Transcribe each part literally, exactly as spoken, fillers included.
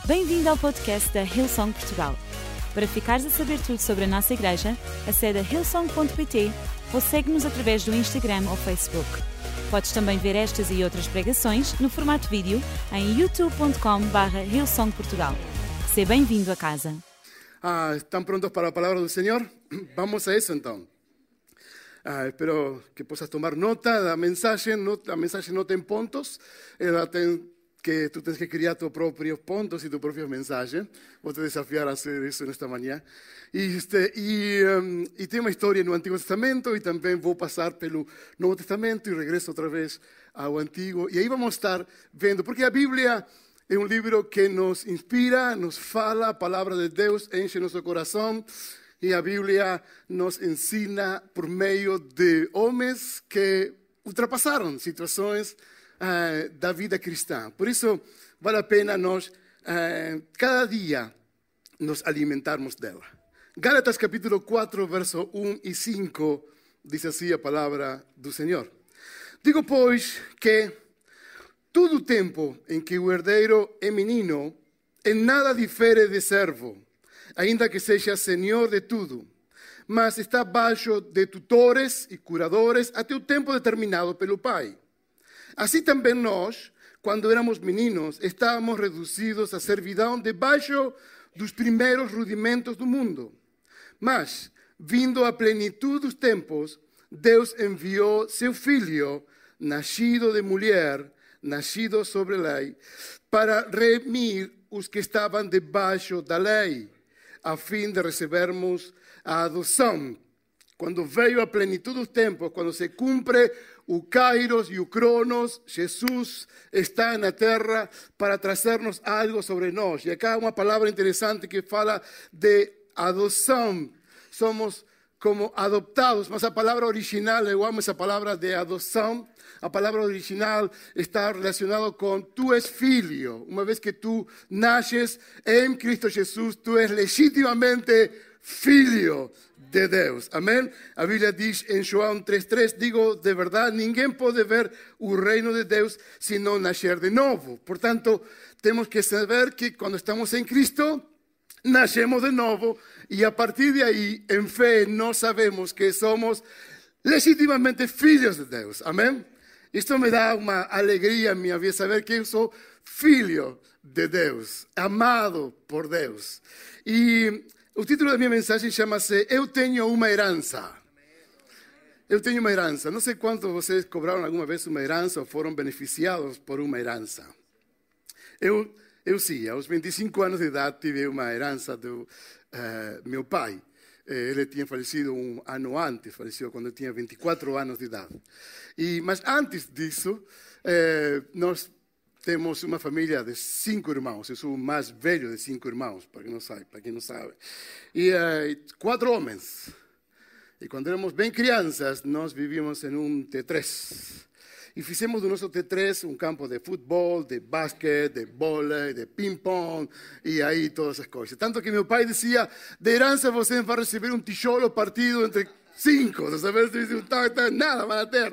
Bem-vindo ao podcast da Hillsong Portugal. Para ficares a saber tudo sobre a nossa igreja, acede a hillsong ponto pt ou segue-nos através do Instagram ou Facebook. Podes também ver estas e outras pregações no formato vídeo em youtube ponto com barra hillsong portugal. Seja bem-vindo a casa. Ah, ¿Están prontos para la palabra del Señor? Vamos a eso entonces. Ah, espero que puedas tomar nota da mensagem. A mensagem não tem pontos. Ela tem que tú tienes que criar tus propios puntos y tu propia mensaje. Vou te desafiar a hacer eso en esta mañana. Y, este, y, um, y tem uma história no Antigo Testamento e também vou passar pelo Novo Testamento e regresso outra vez ao Antigo. E aí vamos estar vendo, porque a Bíblia é um livro que nos inspira, nos fala, a palavra de Deus enche nosso coração. E a Bíblia nos ensina por meio de homens que ultrapassaram situações Uh, da vida cristã. Por isso, vale a pena nós, uh, cada dia, nos alimentarmos dela. Gálatas capítulo quatro, verso um e cinco, diz assim a palavra do Senhor. Digo, pois, que todo o tempo em que o herdeiro é menino, em nada difere de servo, ainda que seja senhor de tudo, mas está baixo de tutores e curadores até o tempo determinado pelo Pai. Assim também nós, quando éramos meninos, estávamos reduzidos à servidão debaixo dos primeiros rudimentos do mundo. Mas, vindo à plenitude dos tempos, Deus enviou seu Filho, nascido de mulher, nascido sobre a lei, para remir os que estavam debaixo da lei, a fim de recebermos a adoção. Quando veio a plenitude dos tempos, quando se cumpre o Kairos e o Cronos, Jesus está na terra para trazer-nos algo sobre nós. E acá uma palavra interessante que fala de adoção. Somos como adoptados, mas a palavra original, eu amo essa palavra de adoção. A palavra original está relacionada com tu és filho. Uma vez que tu nasces em Cristo Jesus, tu és legitimamente filho de Deus. Amém? A Bíblia diz em João três três, digo de verdade, ninguém pode ver o reino de Deus se não nascer de novo. Portanto, temos que saber que quando estamos em Cristo, nascemos de novo e a partir de aí, em fé, nós sabemos que somos legitimamente filhos de Deus. Amém? Isto me dá uma alegria em minha vida, saber que eu sou filho de Deus, amado por Deus. E o título da minha mensagem chama-se Eu Tenho Uma Herança. Eu tenho uma herança. Não sei quantos vocês cobraram alguma vez uma herança ou foram beneficiados por uma herança. Eu, eu sim, aos vinte e cinco anos de idade tive uma herança do uh, meu pai. Ele tinha falecido um ano antes, faleceu quando eu tinha vinte e quatro anos de idade. E, mas antes disso, eh, nós temos uma família de cinco irmãos. Eu sou o mais velho de cinco irmãos, para quem não sabe. Para quem não sabe. E uh, quatro homens. E quando éramos bem crianças, nós vivíamos em um T três. E fizemos do nosso T três um campo de futebol, de basquete, de vôlei, de ping-pong, e aí todas as coisas. Tanto que meu pai dizia, de herança você vai receber um tijolo partido entre cinco. Não sabe se nada vai ter.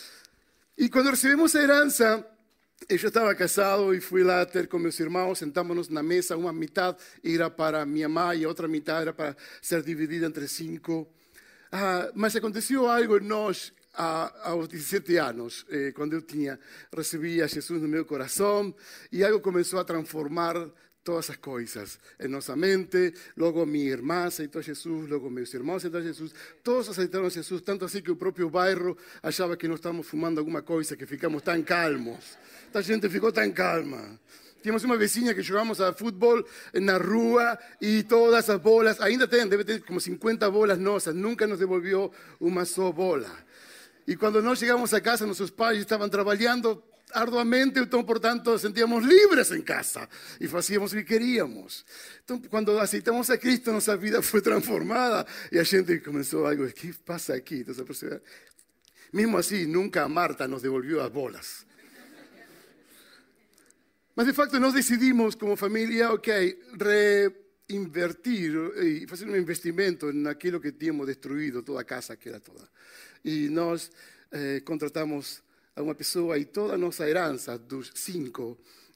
E quando recebemos a herança, eu já estava casado e fui lá ter com meus irmãos, sentamos-nos na mesa, uma metade era para minha mãe e a outra metade era para ser dividida entre cinco. Ah, mas aconteceu algo em nós ah, aos dezessete anos, eh, quando eu tinha, recebi a Jesus no meu coração e algo começou a transformar todas as coisas em nossa mente. Logo minha irmã aceitou Jesus, logo meus irmãos aceitaram Jesus, todos aceitaram Jesus, tanto assim que o próprio bairro achava que nós estávamos fumando alguma coisa, que ficamos tão calmos. A gente ficou tão calma. Tínhamos uma vizinha que jogávamos a futebol na rua e todas as bolas, ainda tem, deve ter como cinquenta bolas nossas, nunca nos devolveu uma só bola. E quando nós chegamos a casa, nossos pais estavam trabalhando arduamente, então, portanto, sentíamos livres em casa e fazíamos o que queríamos. Então, quando aceitamos a Cristo, nossa vida foi transformada e a gente começou algo, o que passa aqui? Então, mesmo assim, nunca a Marta nos devolveu as bolas. Mas, de facto, nós decidimos, como família, ok, reinvertir e fazer um investimento naquilo que tínhamos destruído, toda a casa que era toda. E nós eh, contratamos a uma pessoa e toda a nossa herança dos cinco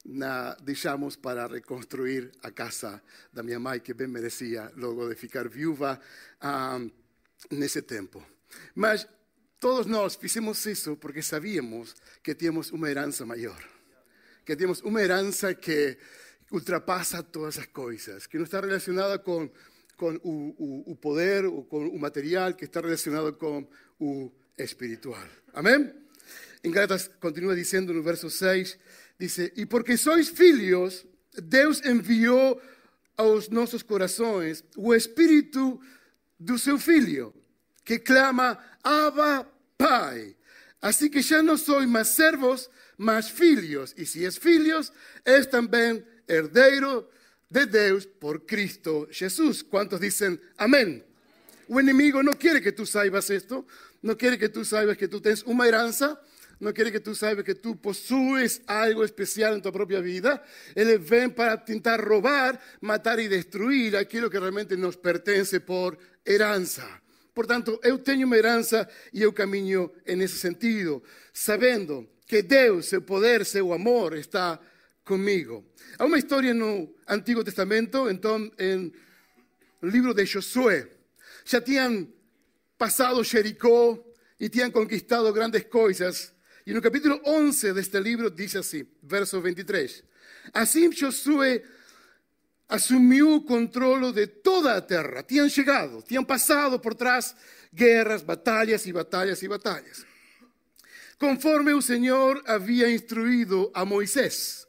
na, deixamos para reconstruir a casa da minha mãe, que bem merecia logo de ficar viúva um, nesse tempo. Mas todos nós fizemos isso porque sabíamos que tínhamos uma herança maior, que tínhamos uma herança que ultrapassa todas as coisas, que não está relacionada com, com o, o, o poder ou com o material, que está relacionado com o espiritual. Amém? Em Gálatas continua dizendo no verso seis, dice, e porque sois filhos, Deus enviou aos nossos corações o Espírito do seu Filho, que clama, Abba, Pai. Assim que já não sois mais servos, mas filhos. E se és filhos, és também herdeiro de Deus por Cristo Jesús. ¿Cuántos dicen amén? O inimigo no quiere que tú saibas esto, no quiere que tú saibas que tú tienes una heranza, no quiere que tú saibas que tú posues algo especial en tu propia vida. Él ven para intentar robar, matar y destruir aquello que realmente nos pertenece por heranza. Por tanto, eu tenho uma herança e eu caminho nesse sentido, sabendo que Deus, seu poder, seu amor está comigo. Há uma história no Antigo Testamento, então, em no livro de Josué. Já tinham passado Jericó e tinham conquistado grandes coisas. E no capítulo once deste livro diz assim, verso veintitrés. Assim Josué assumiu o controle de toda a terra. Tinham chegado, tinham passado por trás guerras, batalhas e batalhas e batalhas. Conforme o Senhor havia instruído a Moisés,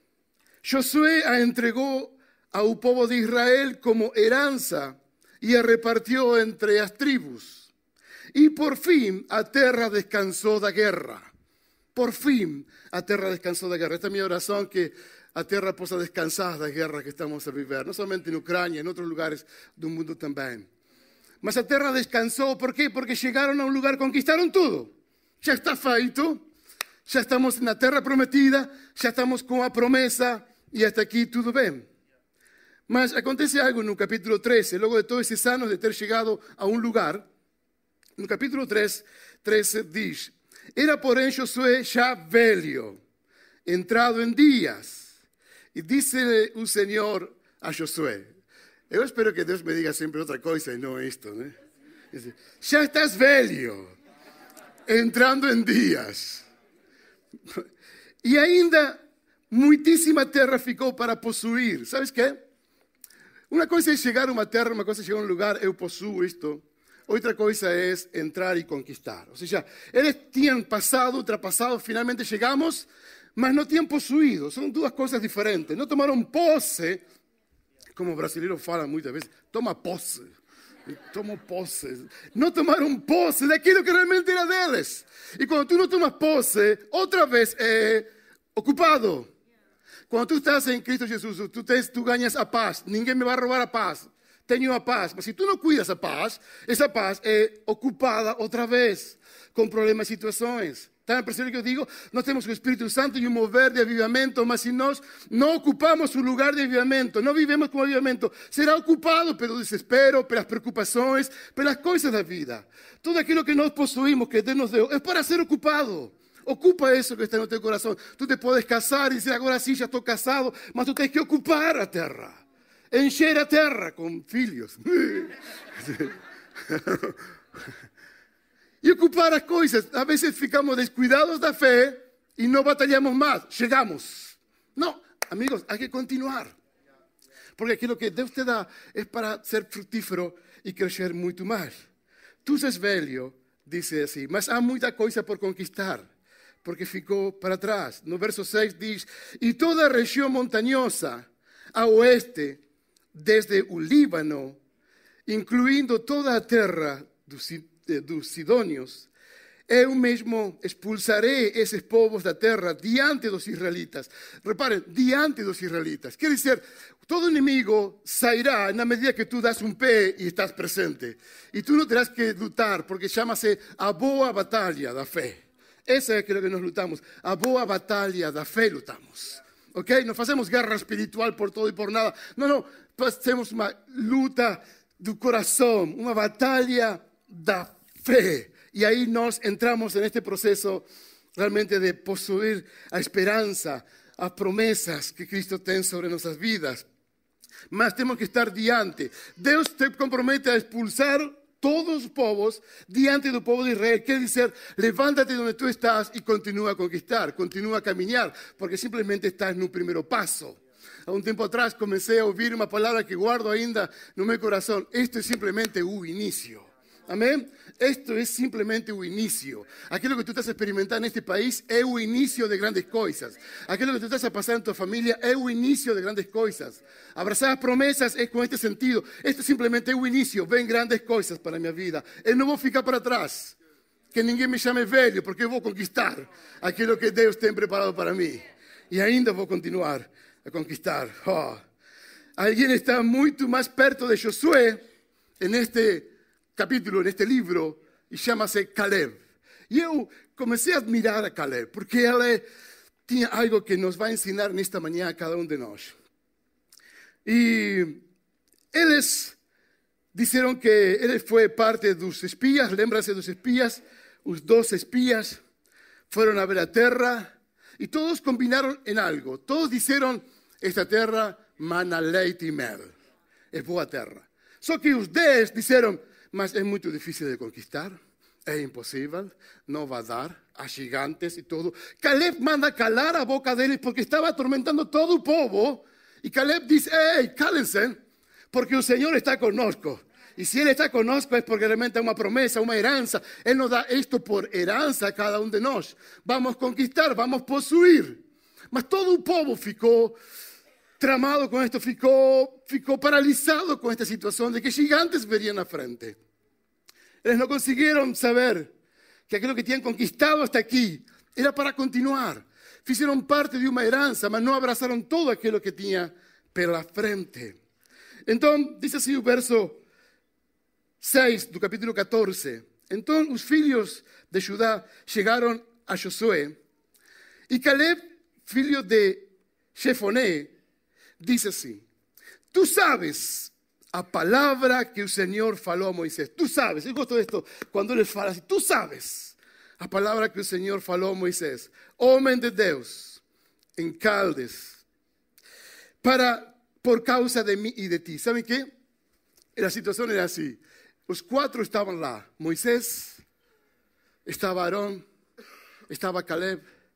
Josué a entregou ao povo de Israel como herança e a repartiu entre as tribos. E por fim a terra descansou da guerra. Por fim a terra descansou da guerra. Esta é a minha oração, que a terra possa descansar da guerra que estamos a viver, não somente na Ucrânia, em outros lugares do mundo também. Mas a terra descansou, por quê? Porque chegaram a um lugar, conquistaram tudo. Já está feito, já estamos na terra prometida, já estamos com a promessa e até aqui tudo bem. Mas acontece algo no capítulo treze, logo de todos esses anos de ter chegado a um lugar. No capítulo treze, treze diz, era porém Josué já velho, entrado em dias. E disse o Senhor a Josué, eu espero que Deus me diga sempre outra coisa e não isto, né? Dice, já estás velho, entrando em dias. E ainda muitíssima terra ficou para possuir. Sabes quê? Uma coisa é chegar a uma terra, uma coisa é chegar a um lugar, eu possuo isto. Outra coisa é entrar e conquistar. Ou seja, eles tinham passado, ultrapassado, finalmente chegamos, mas não tinham possuído. São duas coisas diferentes. Não tomaram posse, como o brasileiro fala muitas vezes, toma posse. Tomo posse. Não tomaram posse daquilo que realmente era deles. E quando tu não tomas posse, outra vez é ocupado. Quando tu estás em Cristo Jesus, tu, tens, tu ganhas a paz. Ninguém me vai roubar a paz. Tenho a paz. Mas se tu não cuidas a paz, essa paz é ocupada outra vez, com problemas e situações. Estão a perceber o que eu digo? Nós temos o Espírito Santo e um mover de avivamento, mas se nós não ocupamos o lugar de avivamento, não vivemos com avivamento, será ocupado pelo desespero, pelas preocupações, pelas coisas da vida. Tudo aquilo que nós possuímos, que Deus nos deu, é para ser ocupado. Ocupa isso que está no teu coração. Tu te podes casar e dizer, agora sim, já estou casado, mas tu tens que ocupar a terra. Encher a terra com filhos. E ocupar as coisas. Às vezes ficamos descuidados da fé e não batalhamos mais. Chegamos. Não, amigos, há que continuar. Porque aquilo que Deus te dá é para ser frutífero e crescer muito mais. Tu és velho, diz assim, mas há muita coisa por conquistar, porque ficou para trás. No verso seis diz, e toda a região montanhosa a oeste, desde o Líbano, incluindo toda a terra dos dos sidônios, eu mesmo expulsarei esses povos da terra diante dos israelitas. Reparem, diante dos israelitas. Quer dizer, todo inimigo sairá na medida que tu das um pé e estás presente. E tu não terás que lutar, porque chama-se a boa batalha da fé. Essa é aquilo que nós lutamos. A boa batalha da fé lutamos. Ok? Não fazemos guerra espiritual por todo e por nada. Não, não. Fazemos uma luta do coração, uma batalha da fé. E aí nós entramos neste processo realmente de possuir a esperança, as promessas que Cristo tem sobre nossas vidas. Mas temos que estar diante. Deus te compromete a expulsar todos os povos diante do povo de Israel. Quer dizer, levántate onde tu estás e continua a conquistar, continua a caminhar, porque simplesmente estás no primeiro passo. Há um tempo atrás comecei a ouvir uma palavra que guardo ainda no meu coração. Isto é simplesmente o início. Amém? Isto é simplesmente o início. Aquilo que tu estás experimentando neste país é o início de grandes coisas. Aquilo que tu estás a passar em tua família é o início de grandes coisas. Abraçar as promessas é com este sentido. Isto simplesmente é o início. Vem grandes coisas para a minha vida. Eu não vou ficar para trás. Que ninguém me chame velho, porque eu vou conquistar aquilo que Deus tem preparado para mim. E ainda vou continuar a conquistar. Oh. Alguém está muito mais perto de Josué neste capítulo, neste livro, e chama-se Caleb. E eu comecei a admirar a Caleb, porque ele tinha algo que nos vai ensinar nesta manhã a cada um de nós. E eles disseram que ele foi parte dos espias, lembra-se dos espias, os doze espias foram a ver a terra, e todos combinaram em algo. Todos disseram, esta terra mana leite e mel. É boa terra. Só que os dez disseram, mas é muito difícil de conquistar, é impossível, não vai dar, há gigantes e tudo. Caleb manda calar a boca deles porque estava atormentando todo o povo. E Caleb diz, ei, cállense, porque o Senhor está conosco. E se Ele está conosco é porque realmente é uma promessa, uma herança. Ele nos dá isto por herança a cada um de nós. Vamos conquistar, vamos possuir. Mas todo o povo ficou tramado com isto, ficou, ficou paralisado com esta situação de que gigantes veriam na frente. Eles não conseguiram saber que aquilo que tinham conquistado hasta aqui era para continuar. Fizeram parte de uma herança, mas não abraçaram todo aquilo que tinha pela frente. Então, diz assim o verso seis do capítulo catorze. Então, os filhos de Judá chegaram a Josué e Caleb, filho de Jefoné, diz assim, tu sabes a palavra que o Senhor falou a Moisés. Tu sabes, eu gosto disto, quando ele fala assim, tu sabes a palavra que o Senhor falou a Moisés, homem de Deus, em Caldes, para, por causa de mim e de ti. ¿Saben qué? A situação era assim, os quatro estavam lá, Moisés, estava Aarón, estava Caleb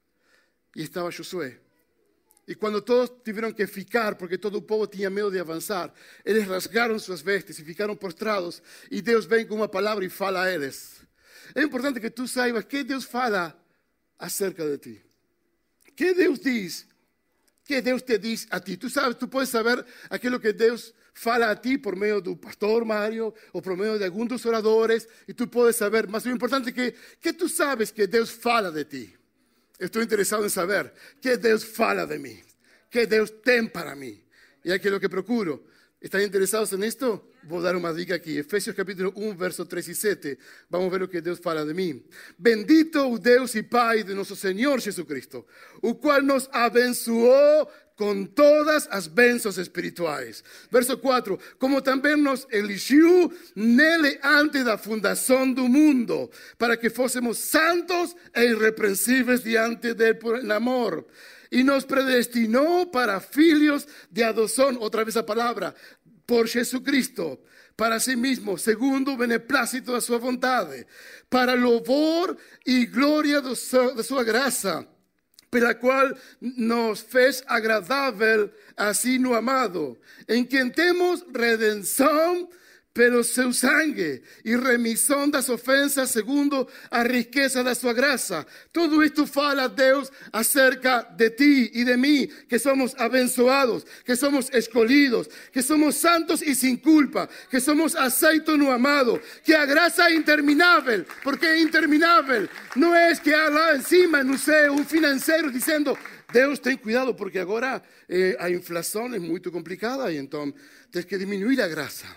e estava Josué. E quando todos tiveram que ficar, porque todo o povo tinha medo de avançar, eles rasgaram suas vestes e ficaram prostrados. E Deus vem com uma palavra e fala a eles. É importante que tu saibas que Deus fala acerca de ti. Que Deus diz, que Deus te diz a ti. Tu sabes, tu podes saber aquilo que Deus fala a ti por meio do pastor Mário ou por meio de alguns dos oradores. E tu podes saber, mas o importante é que, que tu sabes que Deus fala de ti. Estou interessado em saber que Deus fala de mim, que Deus tem para mim. E é aquilo que procuro. ¿Están interessados nisto? Vou dar uma dica aqui. Efésios capítulo um, verso três e sete. Vamos ver o que Deus fala de mim. Bendito o Deus e Pai de nosso Senhor Jesucristo, o qual nos abençoou com todas as bênçãos espirituais. Verso quatro. Como também nos eligiu nele antes da fundação do mundo, para que fôssemos santos e irrepreensíveis diante dele por amor. E nos predestinou para filhos de adoção, outra vez a palavra, por Jesucristo, para si mesmo, segundo o beneplácito da sua vontade, para louvor e glória da sua graça, pela qual nos fez agradável assim no amado, em quem temos redenção pelo seu sangue e remissão das ofensas segundo a riqueza da sua graça. Tudo isto fala Deus acerca de ti e de mim, que somos abençoados, que somos escolhidos, que somos santos e sem culpa, que somos aceitos no amado, que a graça é interminável, porque é interminável. Não é que há lá em cima, no céu, um financeiro dizendo, Deus tem cuidado, porque agora eh, a inflação é muito complicada e então tens que diminuir a graça.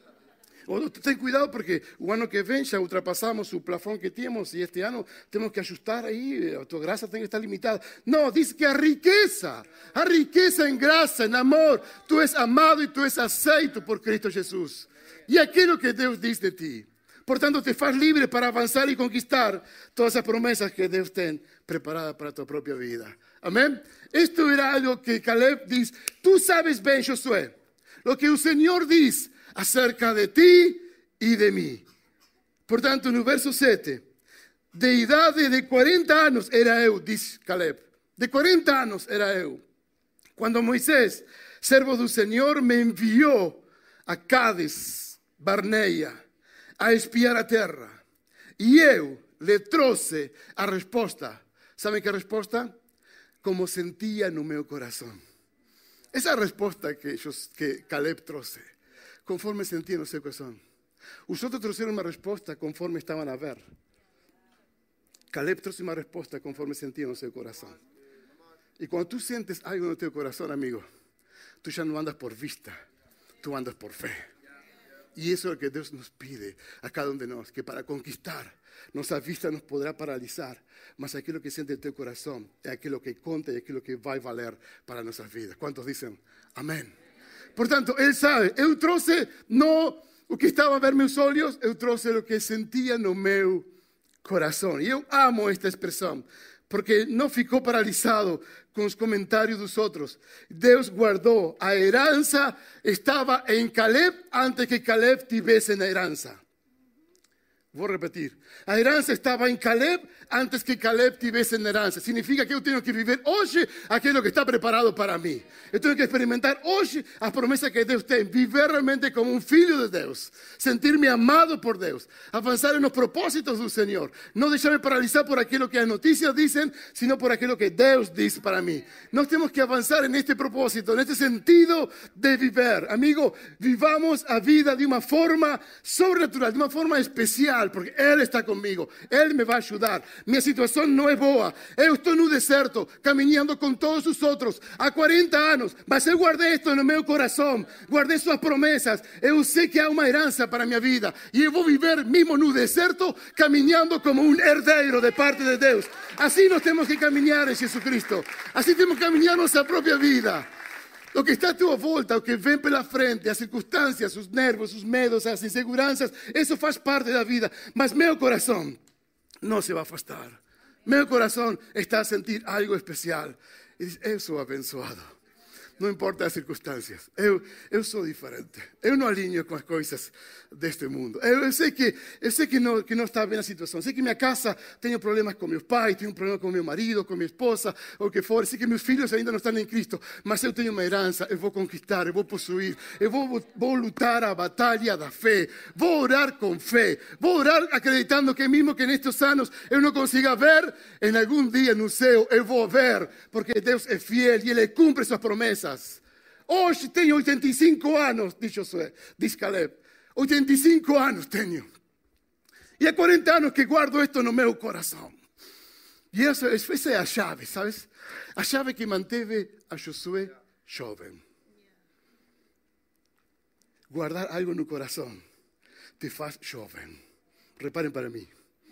Ou tem cuidado porque o ano que vem já ultrapassamos o plafond que tínhamos e este ano temos que ajustar aí, a tua graça tem que estar limitada. Não, diz que a riqueza, a riqueza em graça, em amor, tu és amado e tu és aceito por Cristo Jesus. E aquilo que Deus diz de ti. Portanto, te faz livre para avançar e conquistar todas as promessas que Deus tem preparadas para a tua própria vida. Amén. Esto era algo que Caleb dice, tú sabes bien, Josué, lo que el Señor dice acerca de ti y de mí. Por tanto, en el verso siete, de edad de cuarenta años era eu, dice Caleb. De cuarenta años era eu. Cuando Moisés, servo del Señor, me envió a Cádiz, Barnea, a espiar a tierra. E eu le trouxe a resposta. Sabe que resposta? Como sentia no meu coração. Essa resposta que, que Caleb trouxe, conforme sentia no seu coração. Os outros trouxeram uma resposta conforme estavam a ver. Caleb trouxe uma resposta conforme sentia no seu coração. E quando tu sentes algo no teu coração, amigo, tu já não andas por vista, tu andas por fé. E isso é o que Deus nos pide a cada um de nós, que para conquistar, nossa vista nos poderá paralisar, mas aquilo que sente o teu coração é aquilo que conta e aquilo que vai valer para nossas vidas. Quantos dizem amém? Portanto, ele sabe, eu trouxe não o que estava a ver meus olhos, eu trouxe o que sentia no meu coração. E eu amo esta expressão, porque não ficou paralisado com os comentários dos outros. Deus guardou. A herança estava em Caleb antes que Caleb tivesse na herança. Vou repetir. A herança estava em Caleb antes que Caleb tivesse na herança. Significa que eu tenho que viver hoje aquilo que está preparado para mim. Eu tenho que experimentar hoje a promessa que Deus tem. Viver realmente como um filho de Deus. Sentir-me amado por Deus. Avançar nos propósitos do Senhor. Não deixar-me paralisar por aquilo que as notícias dizem, sino por aquilo que Deus diz para mim. Nós temos que avançar neste propósito, neste sentido de viver. Amigo, vivamos a vida de uma forma sobrenatural, de uma forma especial. Porque Ele está comigo, Ele me vai ajudar. Minha situação não é boa. Eu estou no deserto, caminhando com todos os outros há quarenta anos, mas eu guardei isto no meu coração, guardei suas promessas. Eu sei que há uma herança para a minha vida e eu vou viver mesmo no deserto, caminhando como um herdeiro de parte de Deus. Assim nós temos que caminhar em Jesus Cristo. Assim temos que caminhar nossa própria vida. O que está à tua volta, o que vem pela frente, as circunstâncias, os nervos, os medos, as inseguranças, isso faz parte da vida. Mas meu coração não se vai afastar. Meu coração está a sentir algo especial. E diz, eu sou abençoado. Não importa as circunstâncias. Eu, eu sou diferente. Eu não alinho com as coisas deste mundo. Eu, eu sei, que, eu sei que, não, que não está bem a situação. Eu sei que minha casa tem problemas com meus pais, tenho problema com meu marido, com minha esposa, ou o que for. Eu sei que meus filhos ainda não estão em Cristo. Mas eu tenho uma herança, eu vou conquistar, eu vou possuir. Eu vou, vou lutar a batalha da fé. Vou orar com fé. Vou orar acreditando que mesmo que nestes anos eu não consiga ver, em algum dia no céu eu vou ver. Porque Deus é fiel e Ele cumpre suas promessas. Hoje tenho oitenta e cinco anos, diz Josué, diz Caleb. oitenta e cinco anos tenho. E há quarenta anos que guardo isto no meu coração. E essa, essa é a chave, sabes? A chave que manteve a Josué jovem. Guardar algo no coração te faz jovem. Reparem para mim.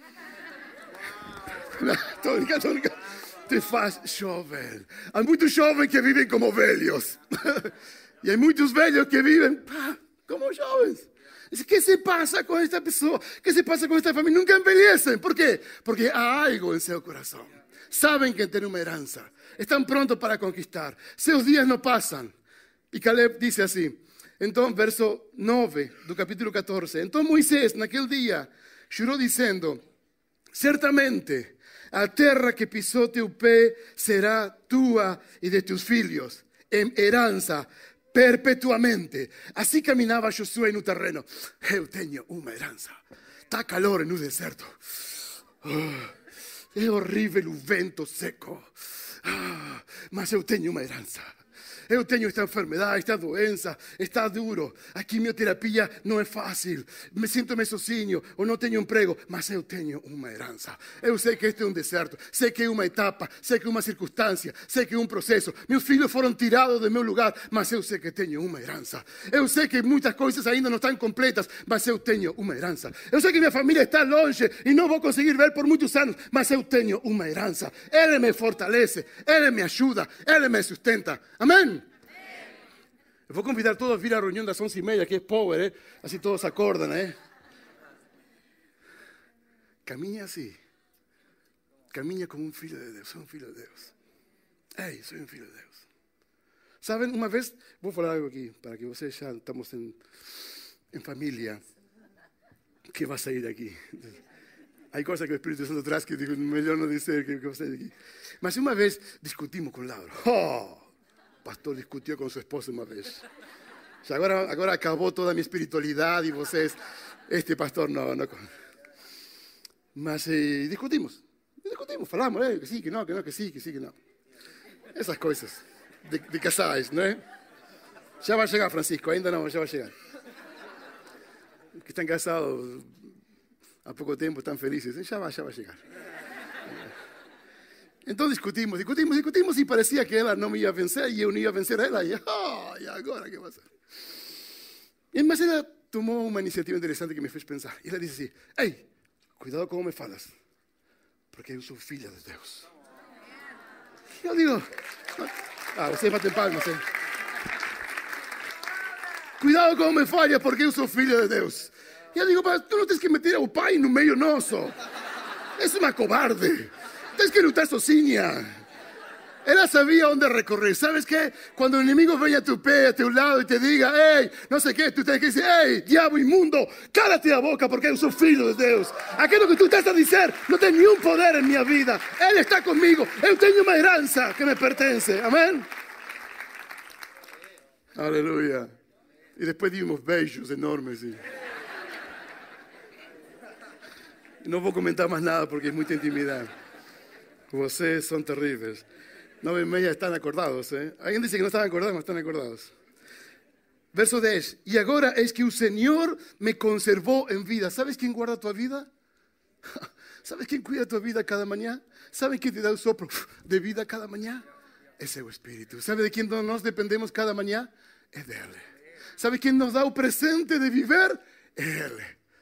Estou brincando, estou brincando. Te faz jovem. Há muitos jovens que vivem como velhos. E há muitos velhos que vivem pá, como jovens. O que se passa com esta pessoa? O que se passa com esta família? Nunca envelhecem. Por quê? Porque há algo em seu coração. Sabem que têm uma herança. Estão prontos para conquistar. Seus dias não passam. E Caleb disse assim. Então, verso nove do capítulo catorze. Então Moisés, naquele dia, jurou dizendo, certamente a terra que pisou teu pé será tua e de teus filhos, em herança, perpetuamente. Assim caminhava Josué no terreno. Eu tenho uma herança. Está calor no deserto. Oh, é horrível o vento seco. Ah, mas eu tenho uma herança. Eu tenho esta enfermidade, esta doença, está duro. A quimioterapia não é fácil. Me sinto meio sozinho ou não tenho emprego. Mas eu tenho uma herança. Eu sei que este é um deserto. Sei que é uma etapa. Sei que é uma circunstância. Sei que é um processo. Meus filhos foram tirados do meu lugar. Mas eu sei que tenho uma herança. Eu sei que muitas coisas ainda não estão completas. Mas eu tenho uma herança. Eu sei que minha família está longe e não vou conseguir ver por muitos anos. Mas eu tenho uma herança. Ele me fortalece. Ele me ajuda. Ele me sustenta. Amém? Eu vou convidar todos a vir à reunião das onze e meia, que é power, eh? Assim todos acordam, né? Caminha assim. Caminha como um filho de Deus. É um filho de Deus. Ei, sou um filho de Deus. Sabem, uma vez, vou falar algo aqui, para que vocês já estamos em, em família, que vai sair daqui. Há coisas que o Espírito Santo traz que digo, melhor não dizer que vai sair daqui. Mas uma vez discutimos com Laura. Oh, o pastor discutiu com sua esposa uma vez. Agora, agora acabou toda a minha espiritualidade e vocês, este pastor não. não. Mas eh, discutimos. Discutimos, falamos, eh, que sim, que não, que não, que sim, que sim, que não. Essas coisas de, de casais, não é? Já vai chegar, Francisco, ainda não, já vai chegar. Que estão casados há pouco tempo, estão felizes, já vai, já vai chegar. Então discutimos, discutimos, discutimos e parecia que ela não me ia vencer e eu não ia vencer a ela. E, oh, e agora que vai ser? Mas ela tomou uma iniciativa interessante que me fez pensar. E ela disse assim, ei, cuidado como me falas, porque eu sou filha de Deus. E eu digo, ah, vocês batem palmas, hein? Cuidado como me falha, porque eu sou filha de Deus. E eu digo, mas tu não tens que meter o pai no meio nosso. És uma cobarde. Tens que lutar sozinha. Ela sabia onde recorrer. ¿Sabes qué? Cuando el enemigo venga a tu pé, a tu lado y te diga, hey, no sé qué, tú tienes que decir, hey, diabo inmundo, cállate la boca porque yo soy filho de Deus. Aquilo que tú estás a dizer no tem nenhum poder en mi vida. Él está conmigo. Eu tenho uma herança que me pertence. Amén. Aleluya. Y después dimos beijos enormes. Y... no voy a comentar más nada porque es mucha intimidad. Vocês son terríveis. Nove e meia están acordados. ¿eh? Alguien dice que no están acordados, mas están acordados. Verso dez. Y ahora es que el Señor me conservó en vida. ¿Sabes quién guarda tu vida? ¿Sabes quién cuida tu vida cada mañana? ¿Sabes quién te da el soplo de vida cada mañana? Es el Espíritu. ¿Sabe de quién nos dependemos cada mañana? Es de Él. ¿Sabe quién nos da el presente de vivir? Él.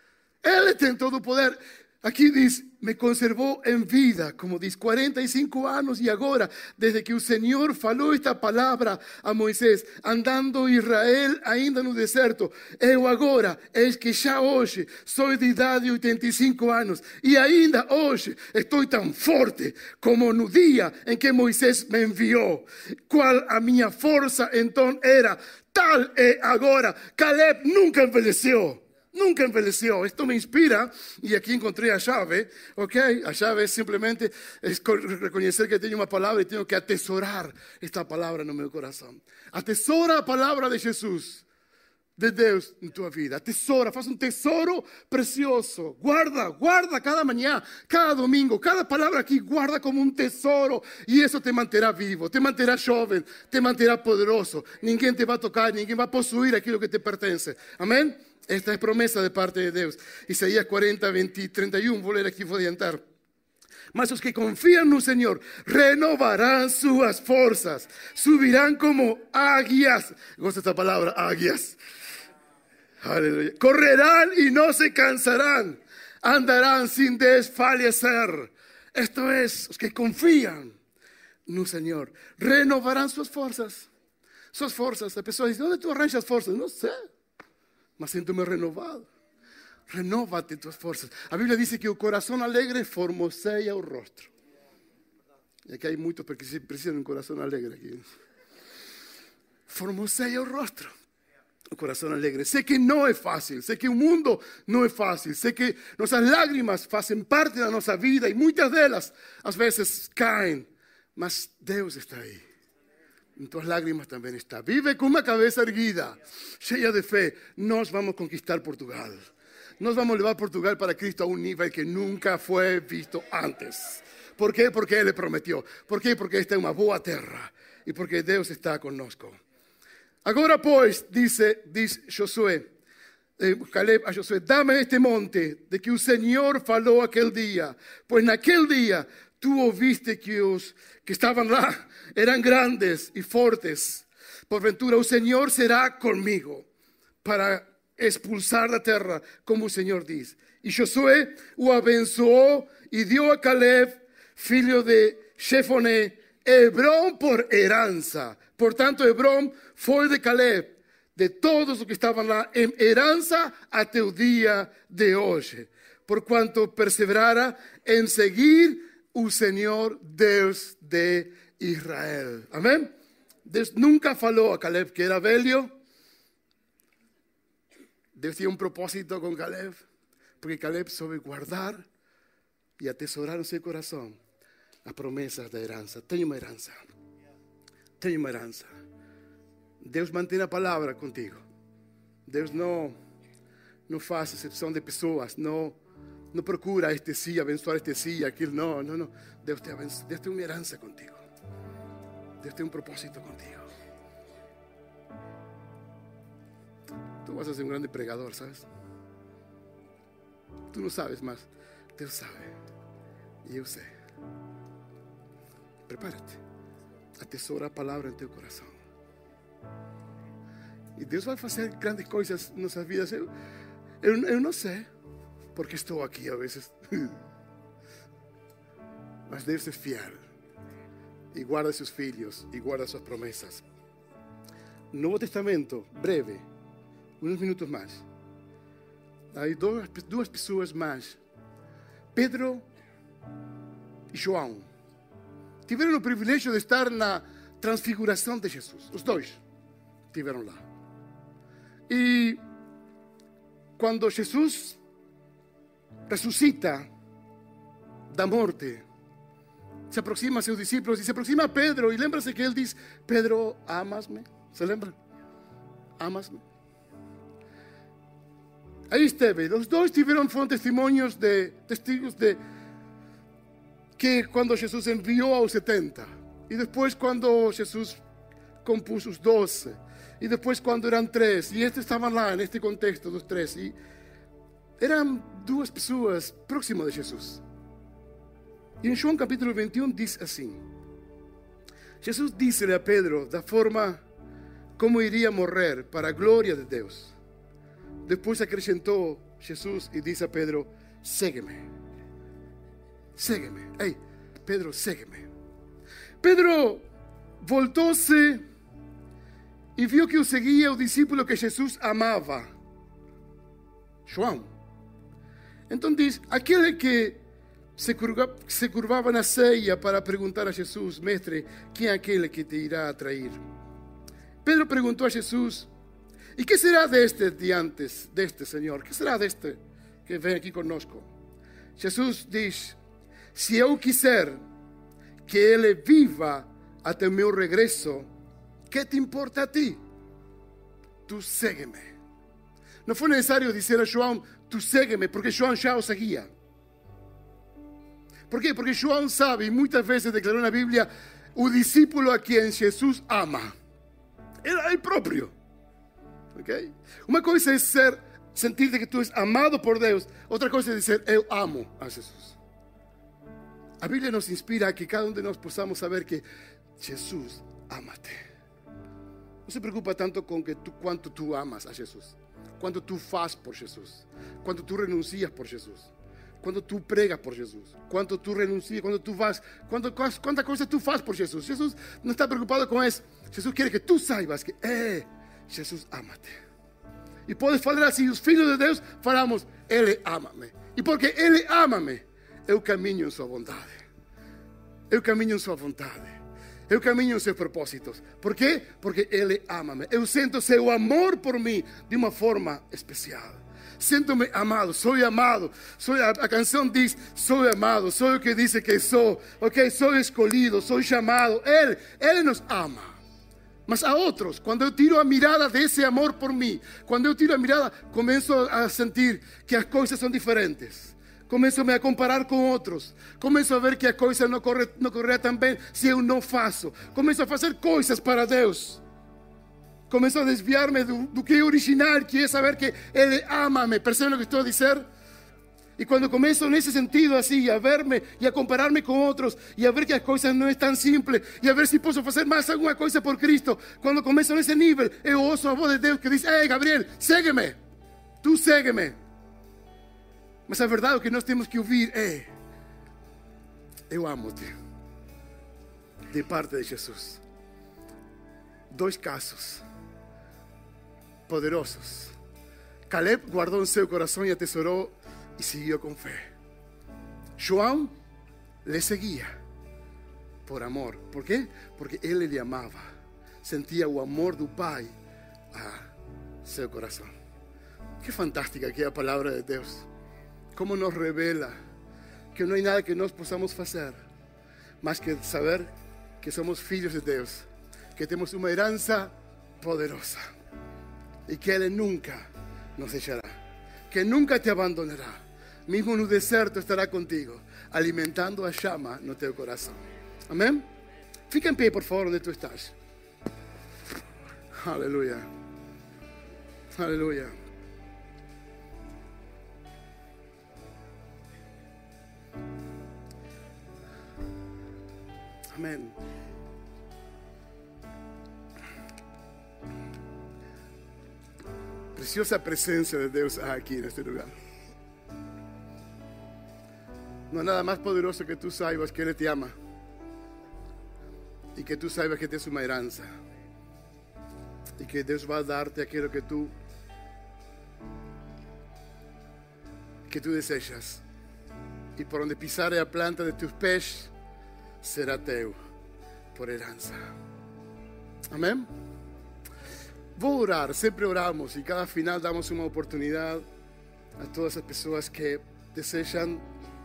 Él tiene todo poder. Aquí dice, me conservó en vida, como dice, cuarenta y cinco años y ahora, desde que el Señor falou esta palabra a Moisés, andando Israel ainda no deserto. Eu agora, es que ya hoje, soy de idade de oitenta e cinco anos, y ainda hoje estoy tan forte como no día en que Moisés me envió. Cual a minha força então era, tal é agora. Caleb nunca envelheció. Nunca envelheció. Esto me inspira y aquí encontré a llave, ¿ok? A llave es simplemente es reconocer que tengo una palabra y tengo que atesorar esta palabra en mi corazón. Atesora la palabra de Jesús, de Deus en tu vida. Atesora, faz un tesoro precioso. Guarda, guarda cada mañana, cada domingo, cada palabra aquí, guarda como un tesoro y eso te mantendrá vivo, te mantendrá joven, te mantendrá poderoso. Ninguém te va a tocar, ninguém va a posuir aquilo que te pertence. Amén. Esta es promesa de parte de Dios. Isaías cuarenta, veinte, treinta y uno, voy a leer aquí, voy a adiantar. Mas los que confían en el Señor renovarán sus fuerzas, subirán como águilas. Gosta esta palabra, águilas. Aleluya. Correrán y no se cansarán, andarán sin desfallecer. Esto es, los que confían en el Señor renovarán sus fuerzas. Sus fuerzas. La persona dice, ¿dónde tú arranjas fuerzas? No sé. Mas siento-me renovado. Renóvate tus fuerzas. La Biblia dice que el corazón alegre formoseia el rostro. Y aquí hay muchos que precisan de un corazón alegre. Aquí. Formoseia el rostro. El corazón alegre. Sé que no es fácil. Sé que el mundo no es fácil. Sé que nuestras lágrimas hacen parte de nuestra vida y muchas de ellas a veces caen. Mas Dios está ahí. En tus lágrimas también está. Vive con una cabeza erguida, llena de fe. Nos vamos a conquistar Portugal. Nos vamos a llevar Portugal para Cristo a un nivel que nunca fue visto antes. ¿Por qué? Porque Él le prometió. ¿Por qué? Porque esta es una boa terra. Y porque Dios está connosco. Ahora pues, dice, dice Josué, eh, Caleb a Josué, dame este monte de que el Señor faló aquel día. Pues en aquel día tú oíste que os que estaban lá eran grandes y fuertes. Por ventura, el Señor será conmigo para expulsar la tierra, como el Señor dice. Y Josué o abençoó y dio a Caleb, filho de Jefoné, Hebrón por heranza. Por tanto, Hebrón fue de Caleb, de todos los que estaban lá, en heranza hasta el día de hoy. Por cuanto perseverara en seguir o Señor Deus de Israel. Amém? Deus nunca falou a Caleb que era velho. Deus tinha um propósito com Caleb, porque Caleb soube guardar e atesourar no seu coração as promessas da herança. Tem uma herança. Tem uma herança. Deus mantém a palavra contigo. Deus não, não faz exceção de pessoas. Não, não procura este sim, abençoar este sim, aquilo. Não, não, não. Deus te abençoa. Deus tem uma herança contigo. Deus tem um propósito contigo. Tu vas a ser um grande pregador, ¿sabes? Tu não sabes, mas Deus sabe. E eu sei. Prepara-te. Atesoura a palavra em teu coração. E Deus vai fazer grandes coisas em nossas vidas. Eu, eu, eu não sei, porque estou aqui a vezes. Mas Deus é fiel. E guarda seus filhos. E guarda suas promessas. Novo Testamento, breve. Uns minutos mais. Há duas, duas pessoas mais. Pedro e João. Tiveram o privilégio de estar na transfiguração de Jesus. Os dois estiveram lá. E quando Jesus ressuscita da morte, se aproxima a seus discípulos e se aproxima a Pedro. E lembra-se que ele diz: Pedro, amas-me? ¿Se lembra? Amas-me? Aí esteve. Os dois tiveram foram testemunhos de testigos de que quando Jesus enviou aos setenta, e depois quando Jesus compôs os doze, e depois quando eram três, e estes estavam lá neste contexto dos três, e eram duas pessoas próximas de Jesus. E em João capítulo vinte e um diz assim: Jesus disse-lhe a Pedro da forma como iria morrer para a glória de Deus. Depois acrescentou Jesus e disse a Pedro: segue-me. Segue-me. Ei, Pedro, segue-me. Pedro voltou-se e viu que o seguia o discípulo que Jesus amava, João. Então diz: aquele que se curva, se curvava na ceia para perguntar a Jesus: mestre, quem é aquele que te irá atrair? Pedro perguntou a Jesus: e que será deste diante deste Senhor? Que será deste que vem aqui conosco? Jesus diz: se eu quiser que ele viva até o meu regresso, que te importa a ti? Tu segue-me. Não foi necessário dizer a João: tu segue-me, porque João já o seguia. Por quê? Porque João sabe, e muitas vezes declarou na Bíblia, o discípulo a quem Jesus ama. Era ele próprio. Okay? Uma coisa é ser, sentir que tu és amado por Deus. Outra coisa é dizer: eu amo a Jesus. A Bíblia nos inspira a que cada um de nós possamos saber que Jesus ama-te. Não se preocupa tanto com que tu, quanto tu amas a Jesus, quanto tu fazes por Jesus, quanto tu renuncias por Jesus, quando tu pregas por Jesus, quanto tu renuncias, quando tu vas, quanto, quanta coisa tu fazes por Jesus. Jesus não está preocupado com isso. Jesus quer que tu saibas que é, Jesus ama-te. E podes falar assim: os filhos de Deus falamos: Ele ama-me. E porque Ele ama-me, eu caminho em sua vontade. Eu caminho em sua vontade. Eu caminho em seus propósitos. Por quê? Porque Ele ama-me. Eu sinto seu amor por mim de uma forma especial. Sinto-me amado, sou amado. Sou, a, a canção diz: sou amado, sou o que diz que sou. Ok, sou escolhido, sou chamado. Ele, Ele nos ama. Mas a outros, quando eu tiro a mirada desse amor por mim, quando eu tiro a mirada, começo a sentir que as coisas são diferentes. Começo a comparar com outros. Começo a ver que a coisa não corre, não corre tão bem se eu não faço. Começo a fazer coisas para Deus. Começo a desviar-me do, do que é original, que é saber que Ele ama-me. Percebem o que estou a dizer? E quando começo nesse sentido assim, a ver-me e a comparar-me com outros, e a ver que as coisas não é tão simples, e a ver se posso fazer mais alguma coisa por Cristo, quando começo nesse nível, eu ouço a voz de Deus que diz: ei, Gabriel, segue-me. Tu segue-me. Mas a verdade que nós temos que ouvir é: eu amo-te, de parte de Jesus. Dois casos poderosos. Caleb guardou em seu coração e atesorou e seguiu com fé. João le seguia, por amor. Por quê? Porque Ele lhe amava. Sentia o amor do Pai a seu coração. Que fantástica que é a palavra de Deus. Como nos revela que não há nada que nós possamos fazer, mas que saber que somos filhos de Deus, que temos uma herança poderosa e que Ele nunca nos deixará, que nunca te abandonará, mesmo no deserto estará contigo, alimentando a chama no teu coração. Amém? Fica em pé, por favor, onde tu estás. Aleluia. Aleluia. Amém. Preciosa presença de Deus aqui neste lugar. Não há nada mais poderoso que tu saibas que Ele te ama e que tu saibas que tens uma herança e que Deus vai dar-te aquilo que tu que tu desejas, e por onde pisar a planta de tus pés será teu por herança. Amém? Vou orar, sempre oramos e cada final damos uma oportunidade a todas as pessoas que desejam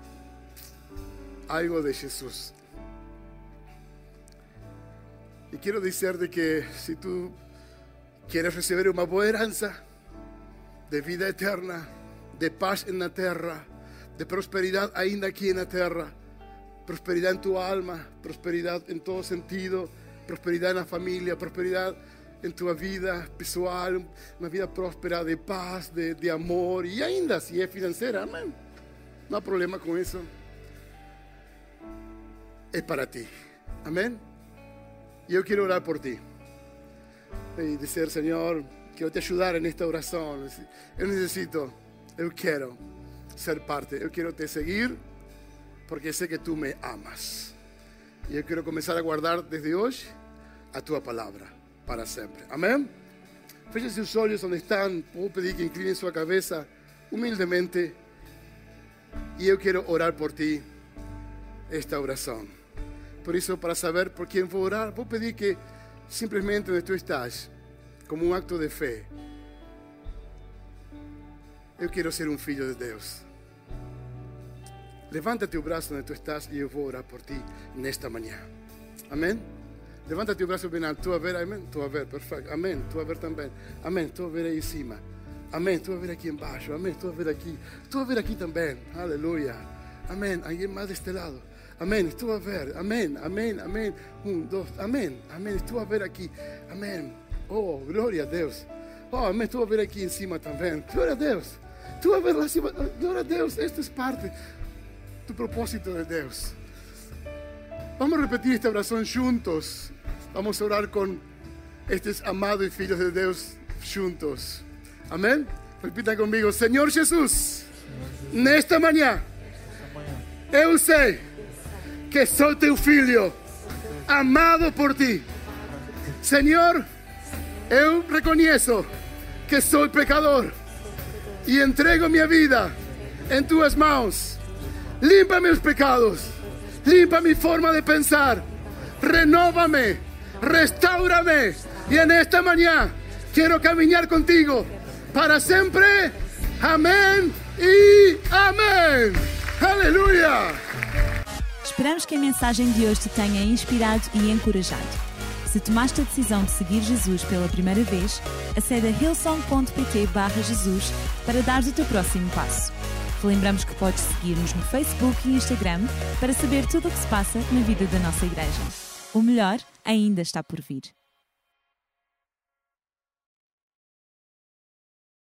algo de Jesus. E quero dizer-te que se tu queres receber uma boa herança de vida eterna, de paz na terra, de prosperidade ainda aqui na terra, prosperidade em tua alma, prosperidade em todo sentido, prosperidade na família, prosperidade em tua vida pessoal, uma vida próspera de paz, de, de amor, e ainda se é financeira, amém, não há problema com isso, é para ti, amém? E eu quero orar por ti e dizer: Senhor, quero te ajudar nesta oração. Eu necessito, eu quero ser parte, eu quero te seguir, porque sei que tu me amas. E eu quero começar a guardar desde hoje a tua palavra para sempre. Amém? Feche seus olhos onde estão. Vou pedir que inclinem sua cabeça humildemente. E eu quero orar por ti esta oração. Por isso, para saber por quem vou orar, vou pedir que simplesmente onde tu estás, como um acto de fé, eu quero ser um filho de Deus. Levanta teu braço onde tu estás e eu vou orar por ti nesta manhã. Amém? Levanta teu braço bem alto. Tu a ver, amém? Tu a ver, perfeito. Amém. Tu a ver também. Amém. Tu a ver aí em cima. Amém. Tu a ver aqui embaixo. Amém. Tu a ver aqui. Tu a ver aqui também. Aleluia. Amém. Alguém mais deste lado. Amém. Tu a ver. Amém. Amém. Amém. Um, dois. Amém. Amém. Tu a ver aqui. Amém. Oh, glória a Deus. Oh, amém. Tu a ver aqui em cima também. Glória a Deus. Tu a ver lá em cima. Glória a Deus. Esta é parte do propósito de Deus. Vamos repetir esta oração juntos. Vamos a orar con estos amados filhos de Deus juntos. Amém? Repitam comigo: Senhor Jesus, nesta manhã, eu sei que sou teu filho, amado por ti. Senhor, eu reconheço que sou pecador e entrego minha vida em tuas mãos. Limpa meus pecados, limpa mi forma de pensar, renóvame, restaura-me, e nesta manhã quero caminhar contigo para sempre. Amém e amém. Aleluia. Esperamos que a mensagem de hoje te tenha inspirado e encorajado. Se tomaste a decisão de seguir Jesus pela primeira vez, acede a hillsong ponto pt barra Jesus para dar o teu próximo passo. Te lembramos que podes seguir-nos no Facebook e Instagram para saber tudo o que se passa na vida da nossa igreja. O melhor ainda está por vir.